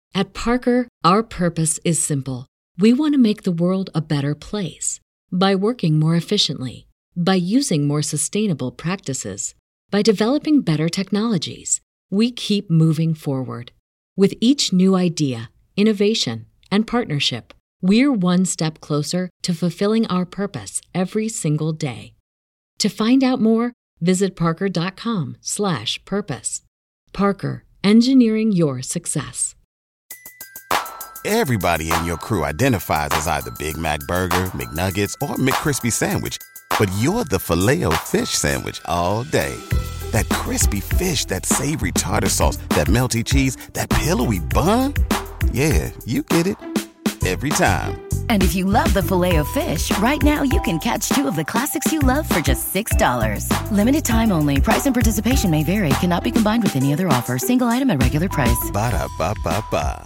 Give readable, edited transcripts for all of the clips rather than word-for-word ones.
At Parker, our purpose is simple. We want to make the world a better place by working more efficiently, by using more sustainable practices, by developing better technologies. We keep moving forward. With each new idea, innovation, and partnership, we're one step closer to fulfilling our purpose every single day. To find out more, visit parker.com/purpose. Parker, engineering your success. Everybody in your crew identifies as either Big Mac Burger, McNuggets, or McCrispy Sandwich. But you're the Filet-O-Fish Sandwich all day. That crispy fish, that savory tartar sauce, that melty cheese, that pillowy bun. Yeah, you get it. Every time. And if you love the Filet-O-Fish, right now you can catch 2 of the classics you love for just $6. Limited time only. Price and participation may vary. Cannot be combined with any other offer. Single item at regular price. Ba-da-ba-ba-ba.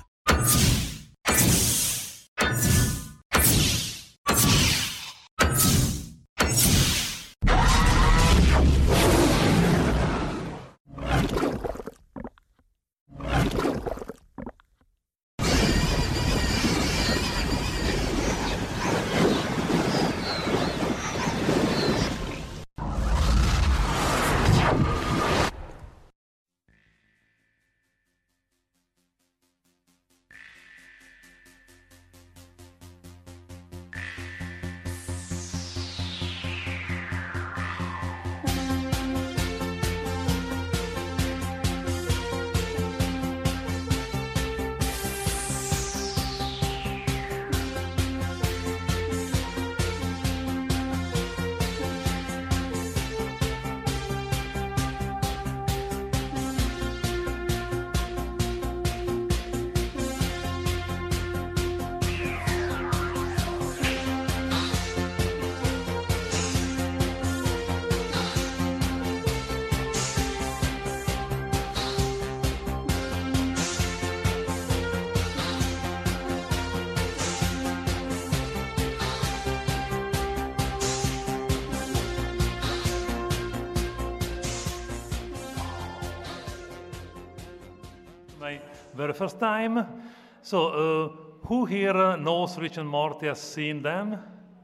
My very first time. So, who here knows Rick and Morty, has seen them?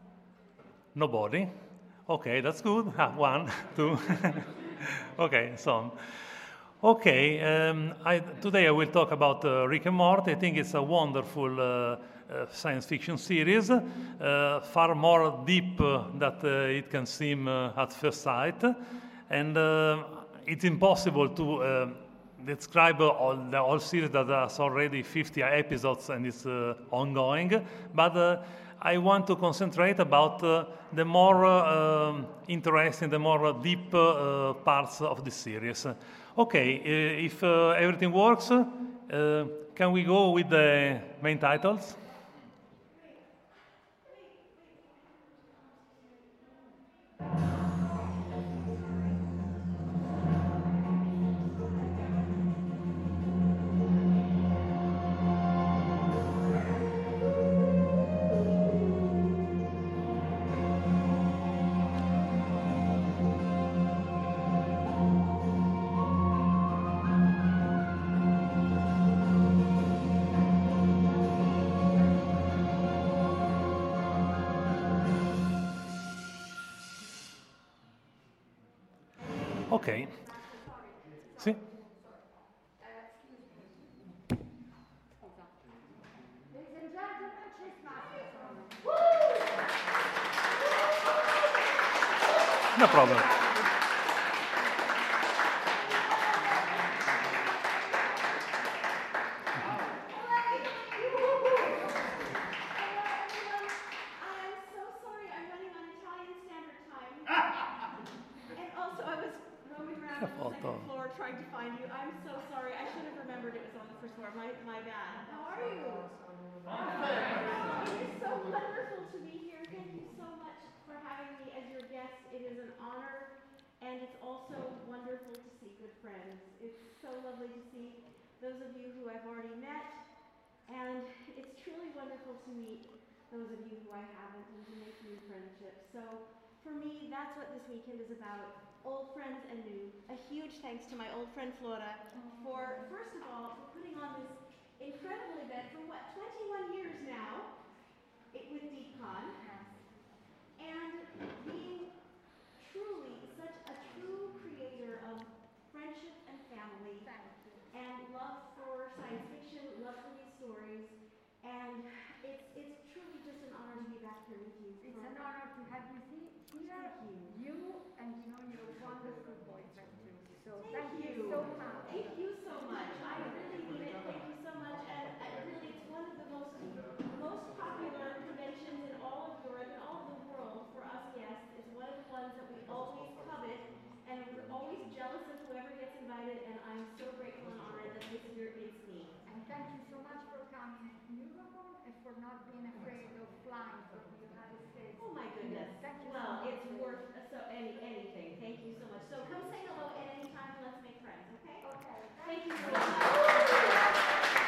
Nobody? Okay, that's good. 1, 2. Okay, so. Okay, today I will talk about Rick and Morty. I think it's a wonderful science fiction series, far more deep than it can seem at first sight. And it's impossible to describe the whole series that has already 50 episodes and is ongoing, but I want to concentrate about the more interesting, the more deep parts of the series. Okay, if everything works, can we go with the main titles? Ok. Sì? No problem. Trying to find you. I'm so sorry. I should have remembered it was on the first floor. My bad. How are you? It is so wonderful to be here. Thank you so much for having me as your guest. It is an honor, and it's also wonderful to see good friends. It's so lovely to see those of you who I've already met, and it's truly wonderful to meet those of you who I haven't and to make new friendships. So for me, that's what this weekend is about. Old friends and new. A huge thanks to my old friend Flora for, first of all, for putting on this incredible you. You and your wonderful boyfriend too. So Thank you so much. Thank you so much. I really mean it. Thank you so much. And really, it's one of the most popular conventions in all of Europe and all of the world for us guests. It's one of the ones that we always covet, and we're always jealous of whoever gets invited. And I'm so grateful and honored that this year it's me. And thank you so much for coming to Eurocon and for not being afraid of flying from the United States. Oh my goodness. Thank you Well, so much. it's worth anything. Thank you so much. So come say hello at any time and let's make friends, okay? Okay. Thank you so much.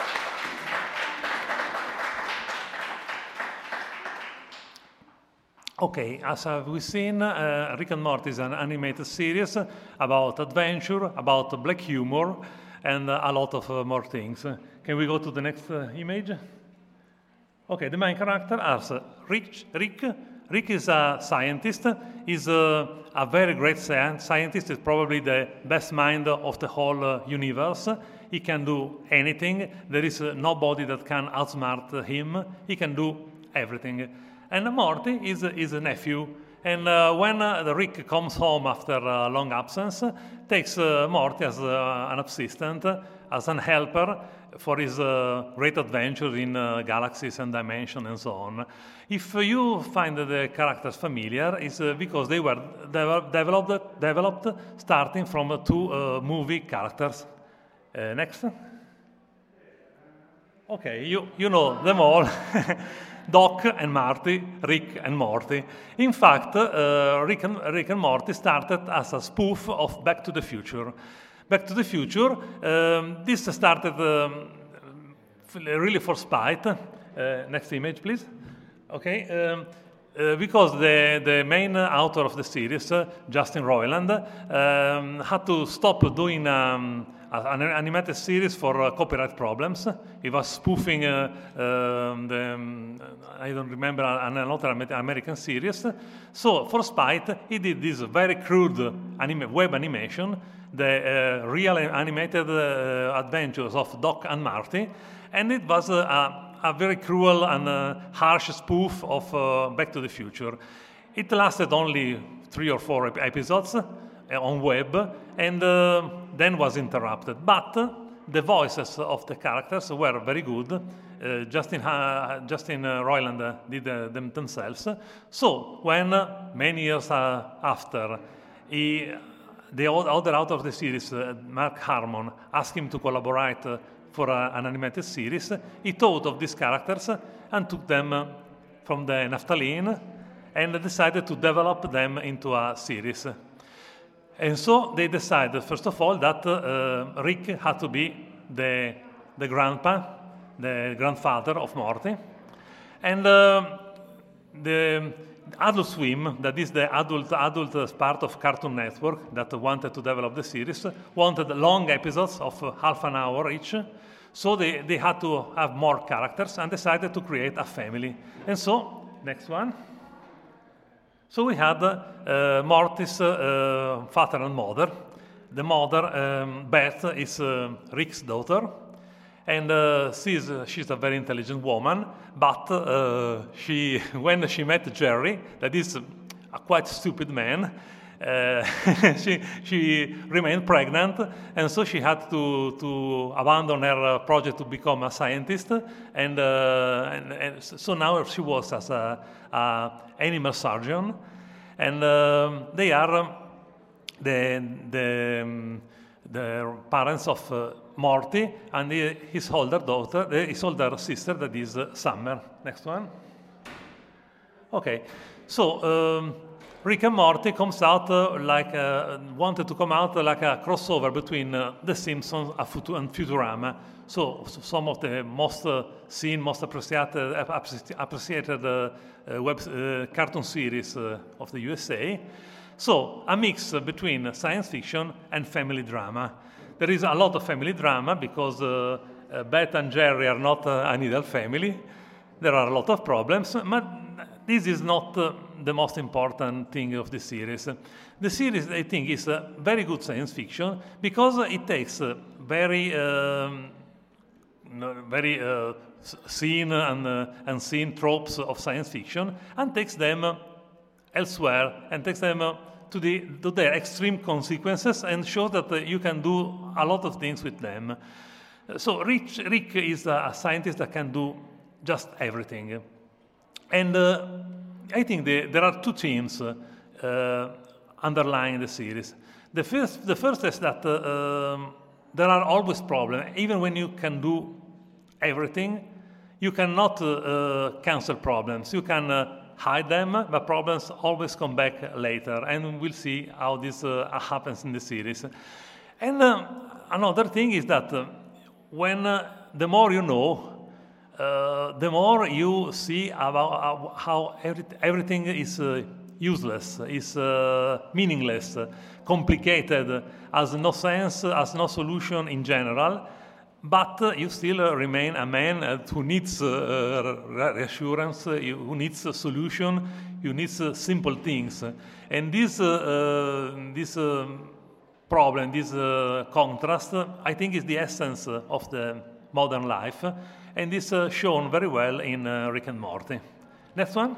Okay, as we've seen, Rick and Morty is an animated series about adventure, about black humor, and a lot of more things. Can we go to the next image? Okay, the main character is Rick. Rick is a scientist. He's a very great scientist. He's probably the best mind of the whole universe. He can do anything. There is nobody that can outsmart him. He can do everything. And Morty is a nephew. And when Rick comes home after a long absence, takes Morty as an assistant, as an helper for his great adventure in galaxies and dimensions and so on. If you find the characters familiar, it's because they were developed starting from two movie characters. Next. Okay, you know them all. Doc and Marty, Rick and Morty. In fact, Rick and Morty started as a spoof of Back to the Future. Back to the Future, this started really for spite. Next image, please. Okay. Because the main author of the series, Justin Roiland, had to stop doing an animated series for copyright problems. He was spoofing I don't remember, another American series. So for spite, he did this very crude web animation, the real animated adventures of Doc and Marty, and it was a very cruel and harsh spoof of Back to the Future. It lasted only 3 or 4 episodes on web, and then was interrupted. But the voices of the characters were very good. Justin Roiland did them themselves. So when many years after, the other author of the series, Mark Harmon, asked him to collaborate for an animated series, he thought of these characters and took them from the naphthalene and decided to develop them into a series. And so they decided, first of all, that Rick had to be the grandpa, the grandfather of Morty. And the Adult Swim, that is the adult part of Cartoon Network that wanted to develop the series, wanted long episodes of half an hour each. So they had to have more characters and decided to create a family. And so, next one. So we had Morty's father and mother. The mother, Beth, is Rick's daughter, and she's a very intelligent woman. But when she met Jerry, that is a quite stupid man, she remained pregnant, and so she had to abandon her project to become a scientist, and so now she works as a animal surgeon, and they are the parents of Morty and his older sister, that is Summer. Next one. Okay, so Rick and Morty comes out wanted to come out like a crossover between The Simpsons and Futurama. So some of the most seen, most appreciated cartoon series of the USA. So a mix between science fiction and family drama. There is a lot of family drama because Beth and Jerry are not an ideal family. There are a lot of problems, but this is not the most important thing of the series. The series, I think, is very good science fiction because it takes very seen and seen tropes of science fiction and takes them elsewhere and takes them to their extreme consequences and shows that you can do a lot of things with them. So Rick is a scientist that can do just everything. And I think there are two themes underlying the series. The first is that there are always problems. Even when you can do everything, you cannot cancel problems. You can hide them, but problems always come back later. And we'll see how this happens in the series. And another thing is that when the more you know, the more you see about how everything is useless, is meaningless, complicated, has no sense, has no solution in general, but you still remain a man who needs reassurance, who needs a solution, who needs simple things. And this problem, this contrast, I think is the essence of the modern life, and is shown very well in Rick and Morty. Next one.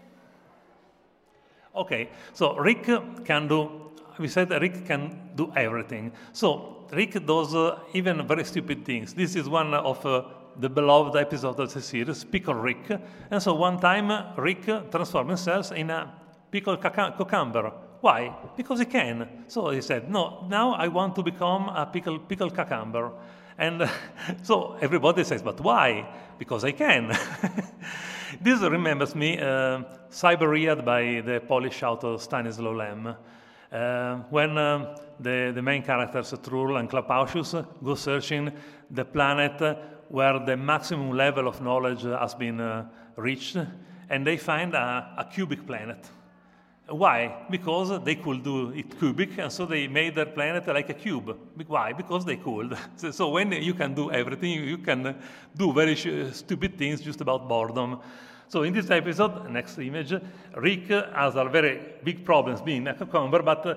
Okay, so Rick can do, we said Rick can do everything. So Rick does even very stupid things. This is one of the beloved episodes of the series, Pickle Rick. And so one time Rick transformed himself in a pickled cucumber. Why? Because he can. So he said, no, now I want to become a pickled cucumber. And so everybody says, but why? Because I can. This remembers me Cyberiad by the Polish author Stanislaw Lem. When the main characters, Trull and Klapauscius, go searching the planet where the maximum level of knowledge has been reached, and they find a cubic planet. Why? Because they could do it cubic, and so they made their planet like a cube. Why? Because they could. So when you can do everything, you can do very stupid things just about boredom. So in this episode, next image, Rick has a very big problems being a cucumber, but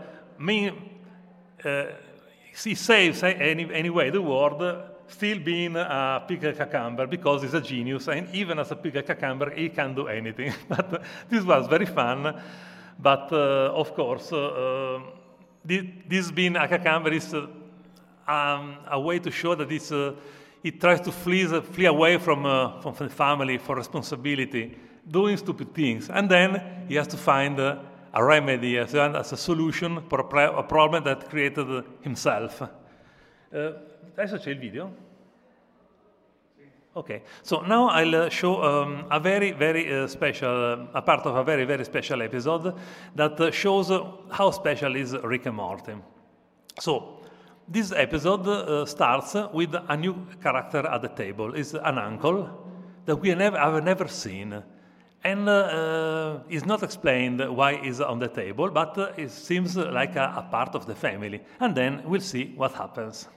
he saves anyway the world, still being a pickled cucumber because he's a genius, and even as a pickled cucumber, he can do anything. But this was very fun. But of course, this being a cucumber is a way to show that it tries to flee away from the family for responsibility, doing stupid things, and then he has to find a remedy as a solution for a problem that created himself. Adesso c'è il video. Okay, so now I'll show a very, very special, a part of a very, very special episode that shows how special is Rick and Morty. So this episode starts with a new character at the table. It's an uncle that I've never seen. And it's not explained why he's on the table, but it seems like a part of the family. And then we'll see what happens.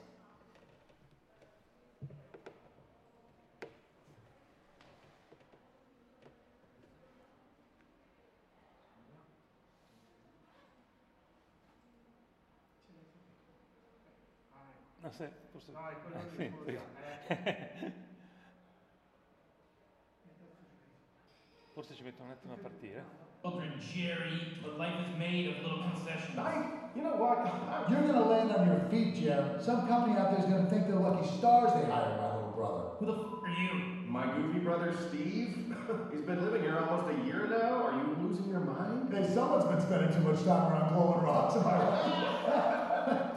Forse ci metto un attimo a partire. Children, Jerry, but life is made of little concessions. You know what? You're gonna land on your feet, Jerry. Some company out there's gonna think they're lucky stars they hired my little brother. Who the f are you? My goofy brother, Steve? He's been living here almost a year now. Are you losing your mind? Hey, someone's been spending too much time around glowing rocks, am I right?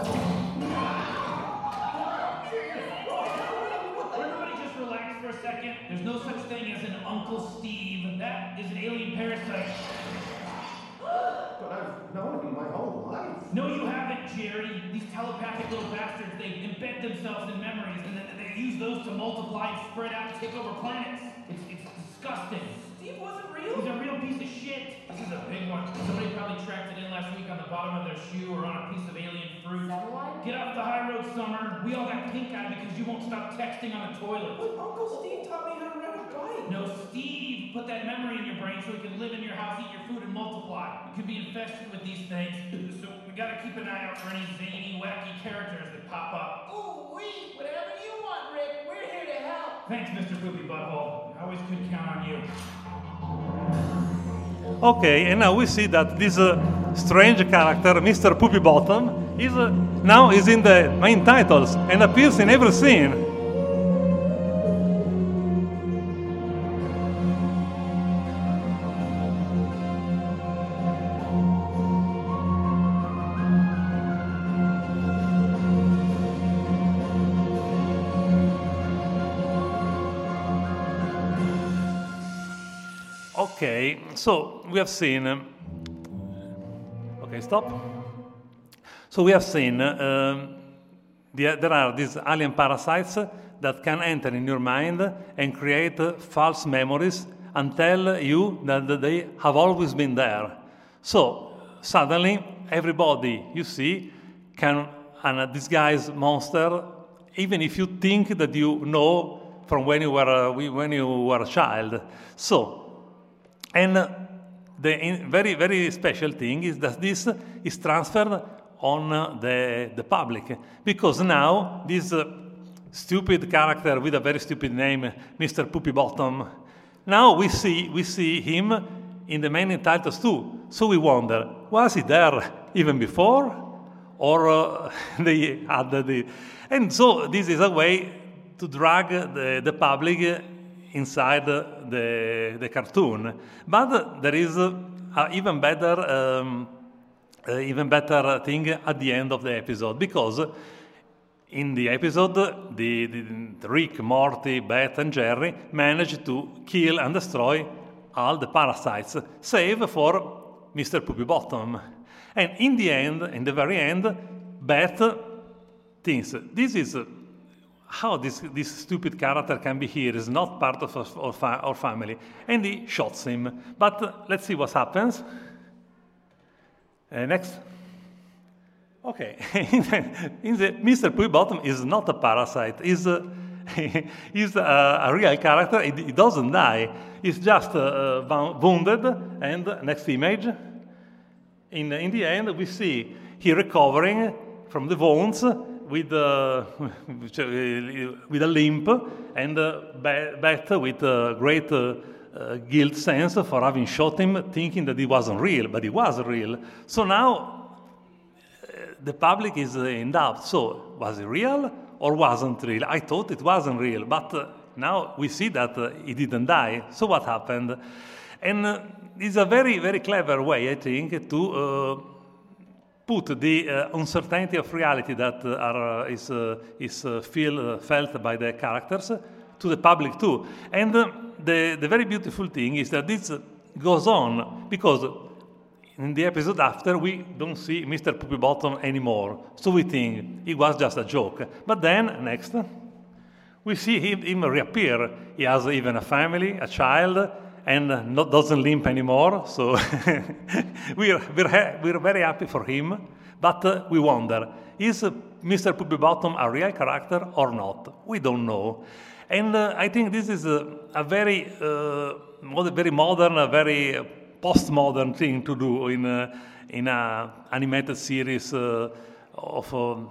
Everybody just relax for a second. There's no such thing as an Uncle Steve. That is an alien parasite. But I've known him my whole life. No, you haven't, Jerry. These telepathic little bastards, they embed themselves in memories, and then they use those to multiply and spread out and take over planets. It's disgusting. Steve wasn't real? He's a real piece of shit. This is a big one. Somebody probably tracked it in last week on the bottom of their shoe or on a piece of alien fruit. Get off the high road, Summer. We all got pink eye because you won't stop texting on the toilet. But Uncle Steve taught me how to ride a bike. No, Steve put that memory in your brain so he can live in your house, eat your food, and multiply. You could be infested with these things, so we gotta keep an eye out for any zany, wacky characters that pop up. Ooh, whatever you want, Rick. We're here to help. Thanks, Mr. Poopy Butthole. I always could count on you. Okay, and now we see that this strange character, Mr. Poopy Bottom, is now is in the main titles and appears in every scene. Okay, so we have seen. Okay, stop. So we have seen there are these alien parasites that can enter in your mind and create false memories and tell you that they have always been there. So suddenly, everybody you see can disguise monster, even if you think that you know from when you were a child. So. And the very, very special thing is that this is transferred on the public, because now this stupid character with a very stupid name, Mr. Poopy Bottom, now we see him in the main titles too. So we wonder, was he there even before, or they added the? And so this is a way to drag the public inside the cartoon. But there is an even better thing at the end of the episode, because in the episode, the Rick, Morty, Beth, and Jerry manage to kill and destroy all the parasites, save for Mr. Poopy Bottom. And in the end, in the very end, Beth thinks, this is how this stupid character can be here, is not part of our family. And he shoots him. But let's see what happens. Next. Okay. Mr. Poopy Bottom is not a parasite. He's a real character. He doesn't die. He's just wounded. And next image. In the end, we see he recovering from the wounds with a limp, and Beth with a great guilt sense for having shot him, thinking that he wasn't real, but he was real. So now the public is in doubt. So was he real or wasn't real? I thought it wasn't real, but now we see that he didn't die. So what happened? And it's a very, very clever way, I think, to put the uncertainty of reality that is felt by the characters to the public too. And the very beautiful thing is that this goes on, because in the episode after we don't see Mr. Poopy Bottom anymore. So we think it was just a joke. But then, next, we see him reappear. He has even a family, a child, and doesn't limp anymore. So we're very happy for him. But we wonder, is Mr. Poopy Bottom a real character or not? We don't know. And I think this is a very modern, a very postmodern thing to do in an animated series of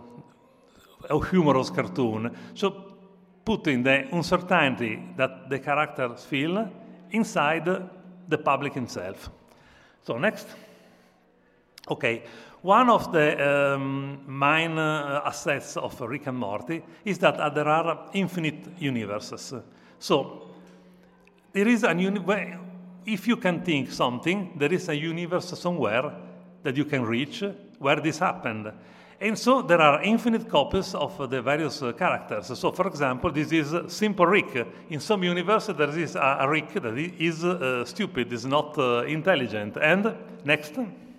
a humorous cartoon. So putting the uncertainty that the characters feel inside the public himself. So next. Okay, one of the main assets of Rick and Morty is that there are infinite universes. So there is if you can think something, there is a universe somewhere that you can reach where this happened. And so there are infinite copies of the various characters. So, for example, this is Simple Rick. In some universe, there is a Rick that is stupid, is not intelligent. And next.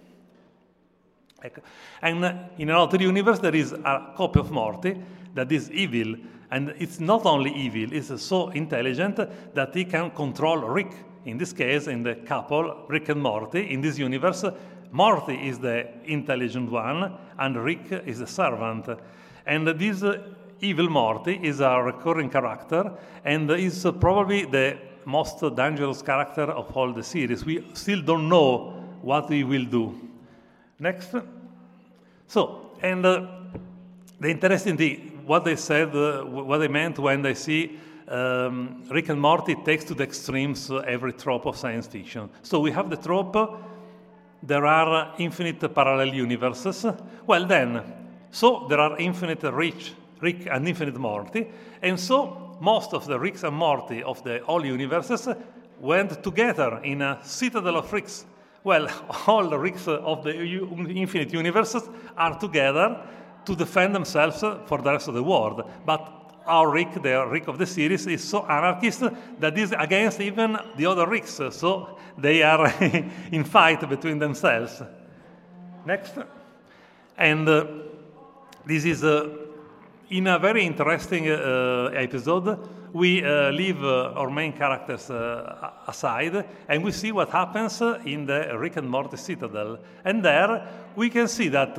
And in another universe, there is a copy of Morty that is evil. And it's not only evil, it's so intelligent that he can control Rick. In this case, in the couple, Rick and Morty, in this universe, Morty is the intelligent one, and Rick is the servant. And this evil Morty is a recurring character, and is probably the most dangerous character of all the series. We still don't know what he will do. Next. So, and the interesting thing, what they said, what they meant when they see Rick and Morty takes to the extremes every trope of science fiction. So we have the trope, there are infinite parallel universes. Well then, so there are infinite Rick and infinite Morty, and so most of the Ricks and Morty of the all universes went together in a citadel of Ricks. Well, all the Ricks of the infinite universes are together to defend themselves for the rest of the world. But our Rick, the Rick of the series, is so anarchist that is against even the other Ricks. So they are in fight between themselves. Next. And this is, in a very interesting episode, we leave our main characters aside, and we see what happens in the Rick and Morty Citadel. And there we can see that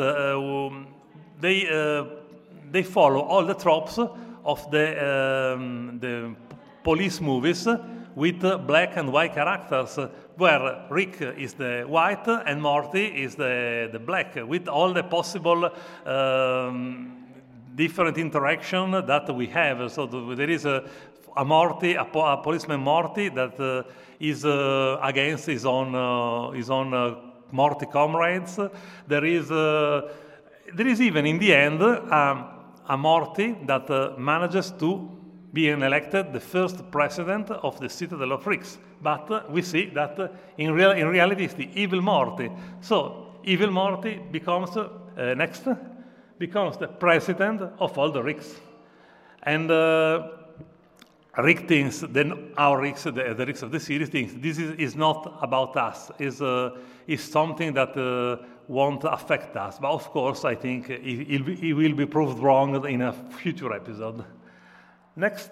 they follow all the tropes of the police movies with black and white characters, where Rick is the white and Morty is the black, with all the possible different interaction that we have. So there is a Morty, a policeman Morty that is against his own Morty comrades. There is even in the end a Morty that manages to be elected the first president of the Citadel of Ricks. But we see that in reality it's the evil Morty. So evil Morty becomes becomes the president of all the Ricks. And Rick thinks, then our Ricks, the Ricks of the series, thinks this is not about us, is something that won't affect us. But of course, I think he will be proved wrong in a future episode. Next.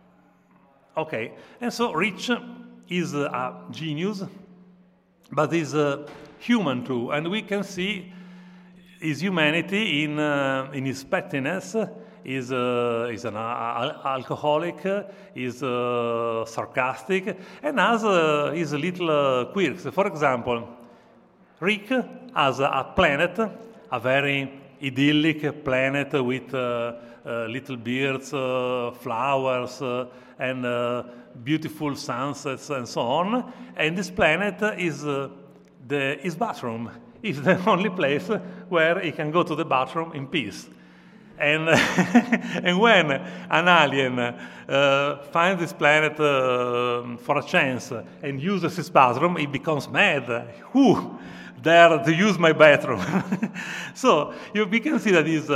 Okay, and so Rich is a genius, but is human too, and we can see his humanity in his pettiness. Is an alcoholic, is sarcastic, and has his little quirks. For example, Rick has a planet, a very idyllic planet with little birds, flowers, and beautiful sunsets and so on. And this planet is his bathroom. It's the only place where he can go to the bathroom in peace. And, and when an alien finds this planet for a chance and uses his bathroom, he becomes mad. Who dare to use my bathroom? So we can see that he's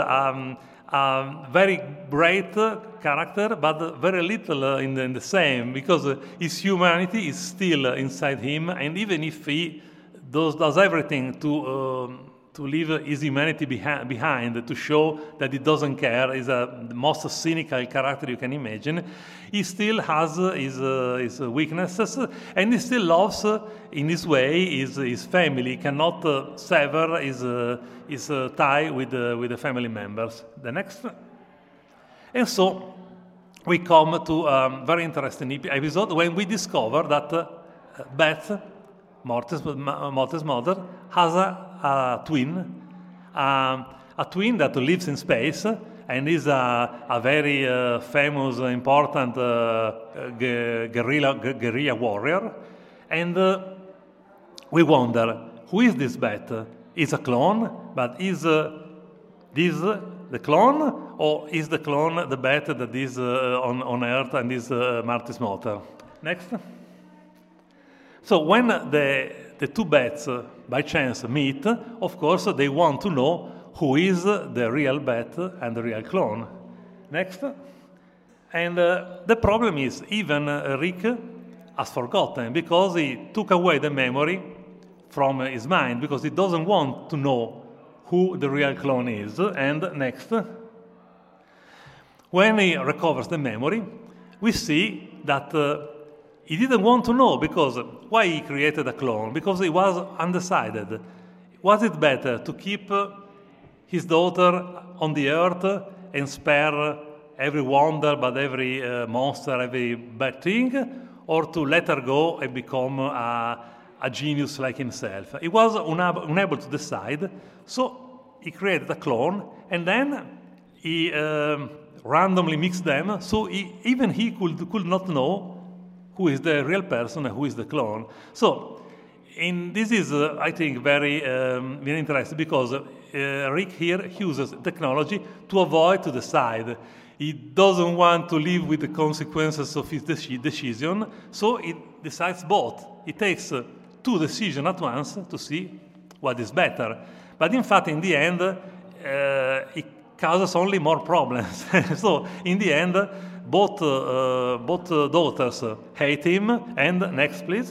a very great character, but very little in the same, because his humanity is still inside him, and even if he does everything to leave his humanity behind, to show that he doesn't care, is the most cynical character you can imagine, he still has his weaknesses, and he still loves, in his way, his family. He cannot sever his tie with the family members. The next. And so we come to a very interesting episode when we discover that Beth, Morty's mother, has a twin that lives in space and is a very famous, important guerrilla warrior. And we wonder, who is this Beth? Is a clone, but is this the clone, or is the clone the Beth that is on Earth and is Marty's mother? Next. So when the two Beths by chance meet, of course they want to know who is the real Beth and the real clone. Next. And the problem is even Rick has forgotten, because he took away the memory from his mind, because he doesn't want to know who the real clone is. And next. When he recovers the memory, we see that he didn't want to know, because why he created a clone? Because he was undecided. Was it better to keep his daughter on the earth and spare every wonder, but every monster, every bad thing, or to let her go and become a genius like himself? He was unable to decide, so he created a clone, and then he randomly mix them, so even he could not know who is the real person and who is the clone. So, this is, I think, very interesting, because Rick here uses technology to avoid to decide. He doesn't want to live with the consequences of his decision, so he decides both. He takes two decisions at once to see what is better. But in fact, in the end, it causes only more problems. So in the end, both daughters hate him. And next, please.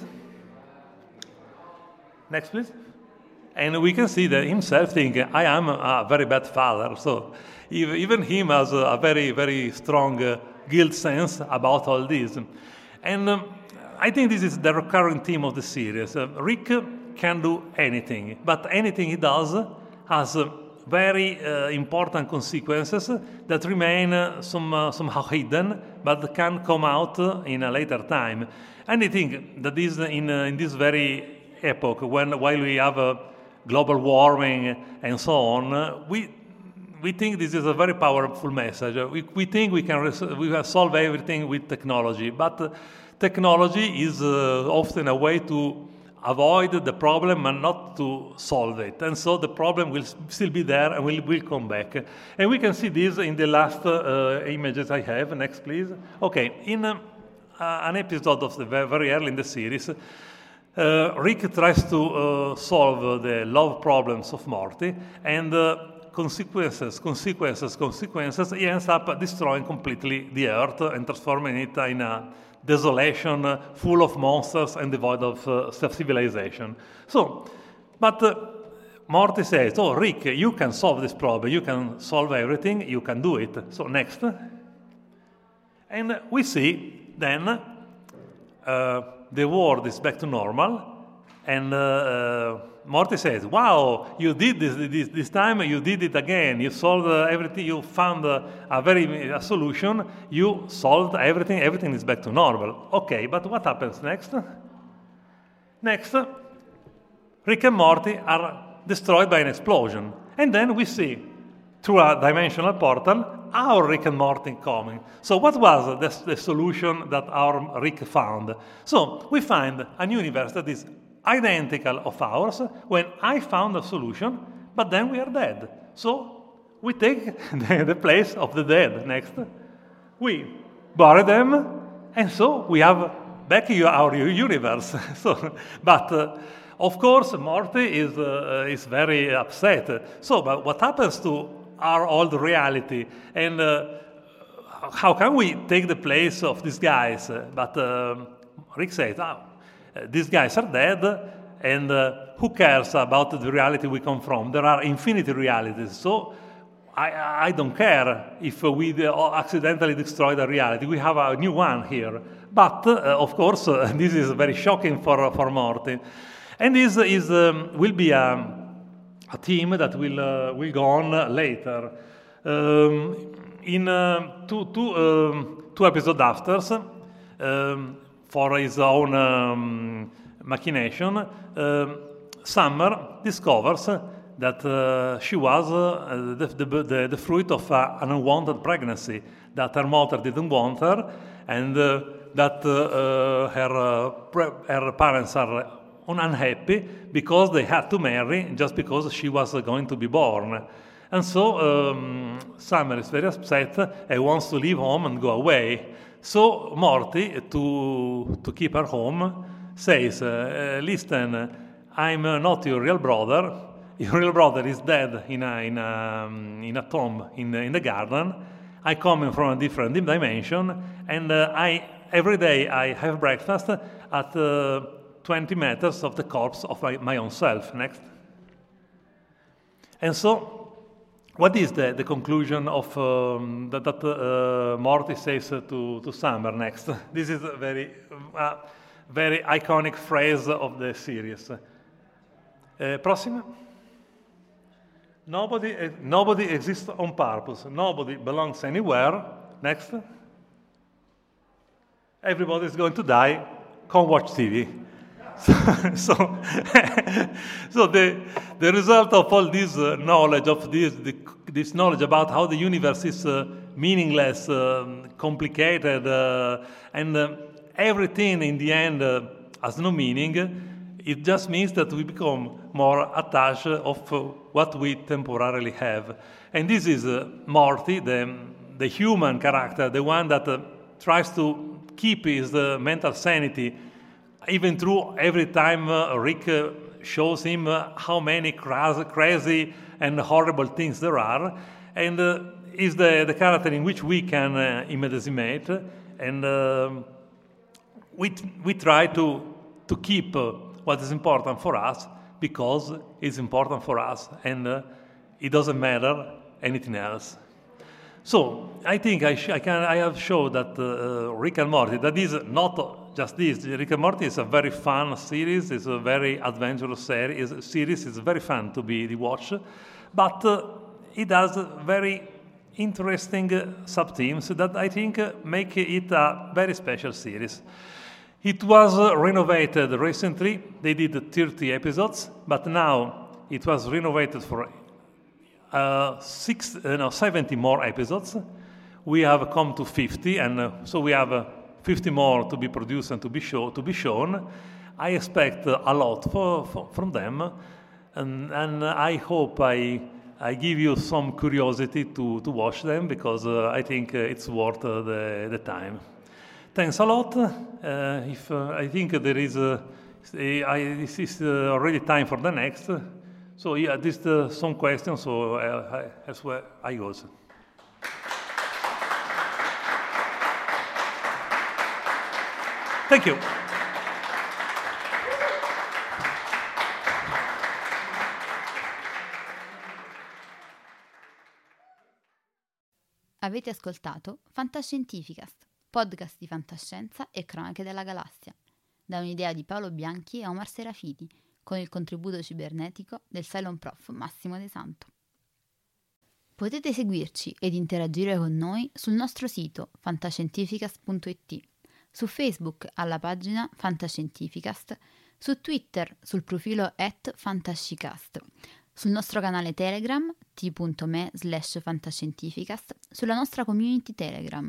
Next, please. And we can see that himself thinking, I am a very bad father. So even him has a very, very strong guilt sense about all this. And I think this is the recurring theme of the series. Rick can do anything, but anything he does has very important consequences that remain somehow hidden, but can come out in a later time. And I think that is in this very epoch, while we have global warming and so on, we think this is a very powerful message. We think we can solve everything with technology, but technology is often a way to avoid the problem and not to solve it. And so the problem will still be there and will come back. And we can see this in the last images I have. Next, please. Okay, in an episode of the very early in the series, Rick tries to solve the love problems of Morty, and consequences, he ends up destroying completely the Earth and transforming it in a desolation full of monsters and devoid of civilization. So, but Morty says, oh, Rick, you can solve this problem, you can solve everything, you can do it. So next. And we see then the world is back to normal, and Morty says, wow, you did this time, you did it again, you solved everything, you found a solution, you solved everything is back to normal. Okay, but what happens next? Next, Rick and Morty are destroyed by an explosion, and then we see, through a dimensional portal, our Rick and Morty coming. So what was the solution that our Rick found? So we find a universe that is identical of ours when I found a solution, but then we are dead. So we take the place of the dead. Next, we bury them, and so we have back our universe. But of course, Morty is very upset. So, but what happens to our old reality, and how can we take the place of these guys? But Rick says, these guys are dead, and who cares about the reality we come from? There are infinite realities, so I don't care if we accidentally destroy the reality. We have a new one here. But, of course, this is very shocking for Morty. And this will be a theme that will go on later. In two episodes after, for his own machination, Summer discovers that she was the fruit of an unwanted pregnancy, that her mother didn't want her, and that her parents are unhappy because they had to marry just because she was going to be born. And so Summer is very upset and wants to leave home and go away. So Morty, to keep her home, says, listen, I'm not your real brother. Your real brother is dead in a tomb in the garden. I come from a different dimension, and every day I have breakfast at 20 meters of the corpse of my own self. Next. And so, what is the conclusion of that Morty says to Summer next? This is a very iconic phrase of the series. Prossima. Nobody exists on purpose. Nobody belongs anywhere. Next. Everybody is going to die. Come watch TV. So the result of all this knowledge, of this knowledge about how the universe is meaningless, complicated, and everything in the end has no meaning. It just means that we become more attached of what we temporarily have. And this is Morty, the human character, the one that tries to keep his mental sanity, even through every time Rick shows him how many crazy and horrible things there are. And is the character in which we can immediate. And we try to keep what is important for us, because it's important for us, and it doesn't matter anything else. So I think I have shown that Rick and Morty, that is not just this. Rick and Morty is a very fun series. It's a very adventurous series. It's very fun to be watched, but it has very interesting sub-themes that I think make it a very special series. It was renovated recently. They did 30 episodes, but now it was renovated for 70 more episodes. We have come to 50, and so we have 50 more to be produced and to be shown. I expect a lot from them, and I hope I give you some curiosity to watch them, because I think it's worth the time. Thanks a lot. If I think there is, this is already time for the next. So yeah, this some questions. So that's where I go. Thank you. Avete ascoltato Fantascientificast, podcast di fantascienza e cronache della galassia, da un'idea di Paolo Bianchi e Omar Serafiti, con il contributo cibernetico del Cylon Prof Massimo De Santo. Potete seguirci ed interagire con noi sul nostro sito fantascientificast.it, su Facebook alla pagina Fantascientificast, su Twitter sul profilo @fantascicast, sul nostro canale Telegram t.me/fantascientificast, sulla nostra community Telegram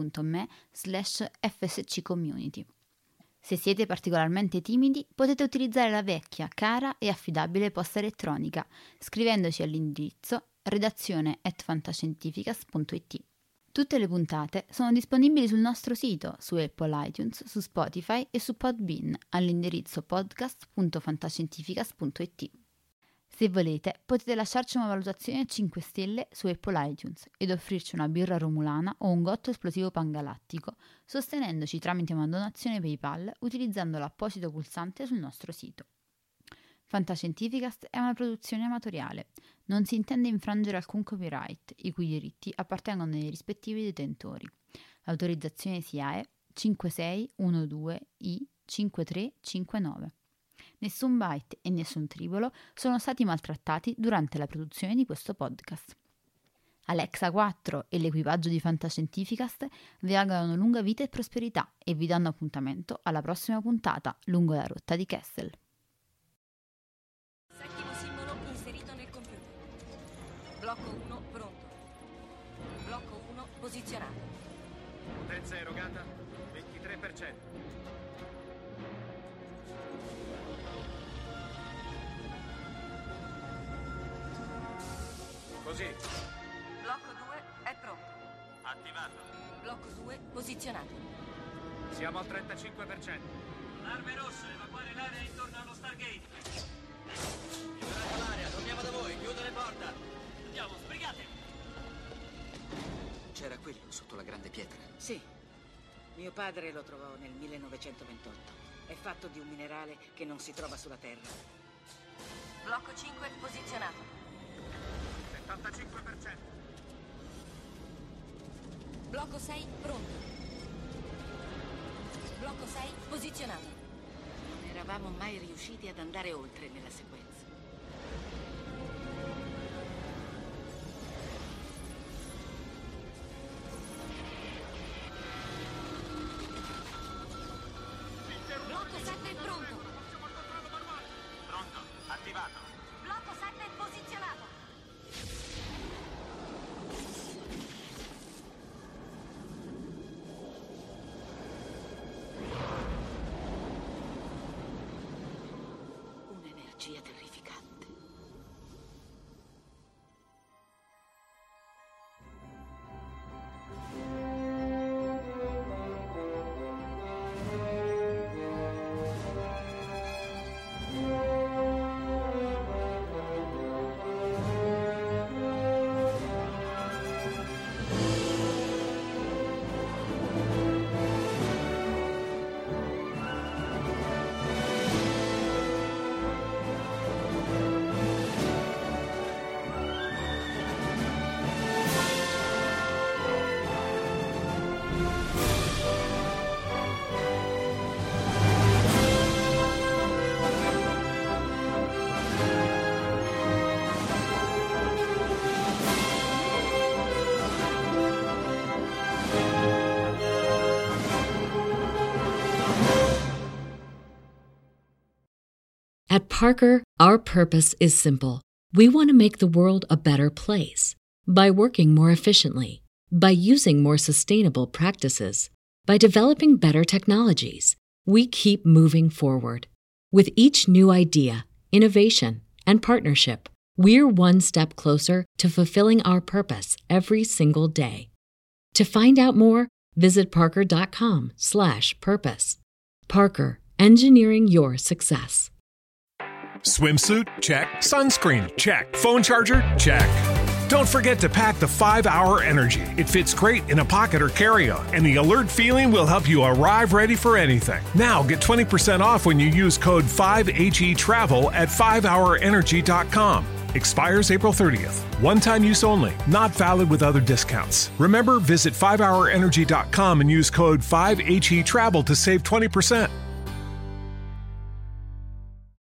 t.me/fsccommunity. Se siete particolarmente timidi, potete utilizzare la vecchia, cara e affidabile posta elettronica, scrivendoci all'indirizzo redazione@fantascientificast.it. Tutte le puntate sono disponibili sul nostro sito, su Apple iTunes, su Spotify e su Podbean, all'indirizzo podcast.fantascientificast.it. Se volete, potete lasciarci una valutazione a 5 stelle su Apple iTunes ed offrirci una birra romulana o un gotto esplosivo pangalattico, sostenendoci tramite una donazione PayPal utilizzando l'apposito pulsante sul nostro sito. Fantascientificast è una produzione amatoriale. Non si intende infrangere alcun copyright, i cui diritti appartengono ai rispettivi detentori. L'autorizzazione SIAE 5612I5359. Nessun byte e nessun tribolo sono stati maltrattati durante la produzione di questo podcast. Alexa 4 e l'equipaggio di Fantascientificast vi augurano lunga vita e prosperità e vi danno appuntamento alla prossima puntata lungo la rotta di Kessel. Settimo simbolo inserito nel computer. Blocco 1 pronto. Blocco 1 posizionato. Potenza erogata 23%. Così. Blocco 2 è pronto. Attivato. Blocco 2 posizionato. Siamo al 35%. Arme rosse, evacuare l'area intorno allo Stargate. Liberate l'area, torniamo da voi, chiudo le porte. Andiamo, sbrigate. C'era quello sotto la grande pietra. Sì. Mio padre lo trovò nel 1928. È fatto di un minerale che non si trova sulla Terra. Blocco 5 posizionato. 75%. Blocco 6 pronto. Blocco 6 posizionato. Non eravamo mai riusciti ad andare oltre nella sequenza. Blocco 7 pronto. Pronto, attivato. Blocco 7 posizionato. un'energia terrificante. At Parker, our purpose is simple. We want to make the world a better place by working more efficiently, by using more sustainable practices, by developing better technologies. We keep moving forward. With each new idea, innovation, and partnership, we're one step closer to fulfilling our purpose every single day. To find out more, visit parker.com/purpose. Parker, engineering your success. Swimsuit? Check. Sunscreen? Check. Phone charger? Check. Don't forget to pack the 5-Hour Energy. It fits great in a pocket or carry-on, and the alert feeling will help you arrive ready for anything. Now get 20% off when you use code 5HETRAVEL at 5hourenergy.com. Expires April 30th. One-time use only. Not valid with other discounts. Remember, visit 5hourenergy.com and use code 5HETRAVEL to save 20%.